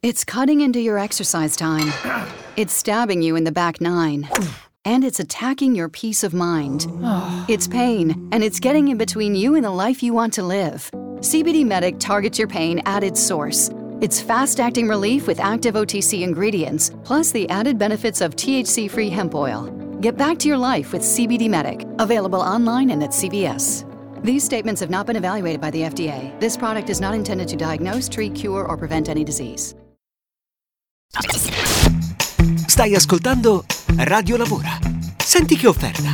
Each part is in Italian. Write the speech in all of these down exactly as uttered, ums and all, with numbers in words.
It's cutting into your exercise time. It's stabbing you in the back nine. And it's attacking your peace of mind. It's pain, and it's getting in between you and the life you want to live. C B D Medic targets your pain at its source. It's fast-acting relief with active O T C ingredients, plus the added benefits of T H C-free hemp oil. Get back to your life with C B D Medic, available online and at C V S. These statements have not been evaluated by the F D A. This product is not intended to diagnose, treat, cure, or prevent any disease. Stai ascoltando Radio Lavora. Senti che offerta.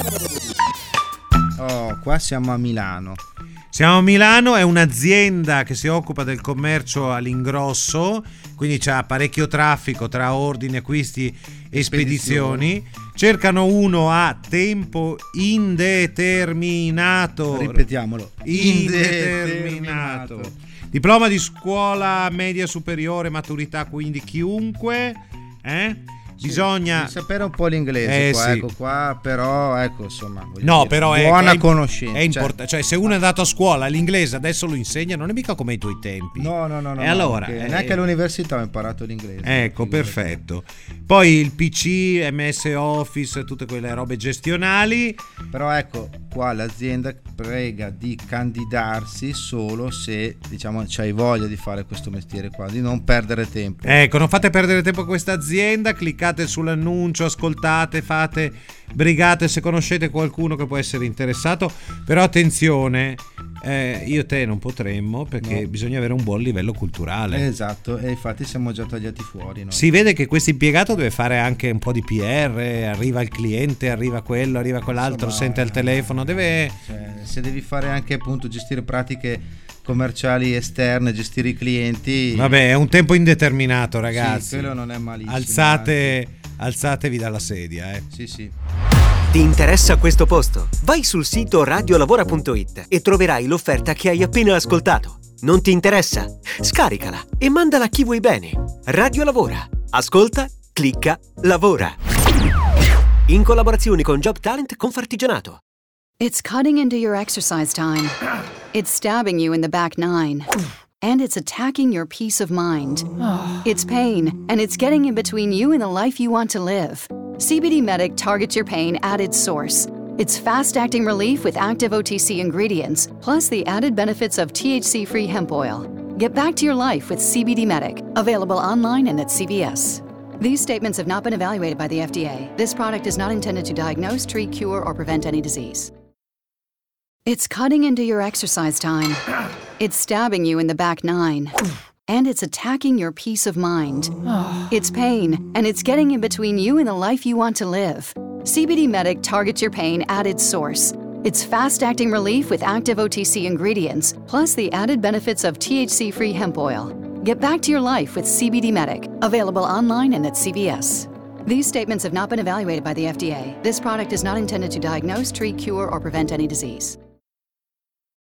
Oh, qua siamo a Milano. Siamo a Milano, è un'azienda che si occupa del commercio all'ingrosso, quindi c'ha parecchio traffico tra ordini, acquisti e spedizioni. Cercano uno a tempo indeterminato. Ripetiamolo. Indeterminato. Diploma di scuola media superiore, maturità, quindi chiunque, eh? Bisogna sì, sapere un po' l'inglese, eh, qua, sì. ecco qua, però ecco insomma no dire, però buona è, conoscenza, è importante, cioè, cioè se uno è andato a scuola l'inglese adesso lo insegna, non è mica come ai tuoi tempi. No no no, no e allora no, eh, neanche all'università ho imparato l'inglese. Ecco, perfetto. Poi il P C, M S Office, tutte quelle robe gestionali. Però ecco qua l'azienda prega di candidarsi solo se diciamo c'hai voglia di fare questo mestiere qua, di non perdere tempo. Ecco, non fate perdere tempo a questa azienda, cliccate sull'annuncio, ascoltate, fate brigate se conoscete qualcuno che può essere interessato, però attenzione, eh, io e te non potremmo perché no. Bisogna avere un buon livello culturale. Esatto, e infatti siamo già tagliati fuori, no? Si vede che questo impiegato deve fare anche un po' di P R, arriva il cliente, arriva quello, arriva quell'altro, insomma, sente al telefono, deve cioè, se devi fare anche appunto gestire pratiche commerciali esterne, gestire i clienti, vabbè, è un tempo indeterminato, ragazzi. Sì, quello non è malissimo. Alzate, alzatevi dalla sedia, eh. Sì, sì. Ti interessa questo posto? Vai sul sito radiolavora punto it e troverai l'offerta che hai appena ascoltato. Non ti interessa? Scaricala e mandala a chi vuoi bene. Radio Lavora. Ascolta, clicca, lavora. In collaborazione con Job Talent Confartigianato. It's cutting into your exercise time. It's stabbing you in the back nine. And it's attacking your peace of mind. It's pain, and it's getting in between you and the life you want to live. C B D Medic targets your pain at its source. It's fast-acting relief with active O T C ingredients, plus the added benefits of T H C-free hemp oil. Get back to your life with C B D Medic, available online and at C V S. These statements have not been evaluated by the F D A. This product is not intended to diagnose, treat, cure, or prevent any disease. It's cutting into your exercise time. It's stabbing you in the back nine. And it's attacking your peace of mind. It's pain, and it's getting in between you and the life you want to live. C B D Medic targets your pain at its source. It's fast-acting relief with active O T C ingredients, plus the added benefits of T H C-free hemp oil. Get back to your life with C B D Medic, available online and at C V S. These statements have not been evaluated by the F D A. This product is not intended to diagnose, treat, cure, or prevent any disease.